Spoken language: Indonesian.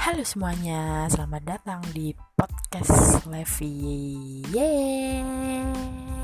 Halo semuanya, selamat datang di podcast Levi. Yeay.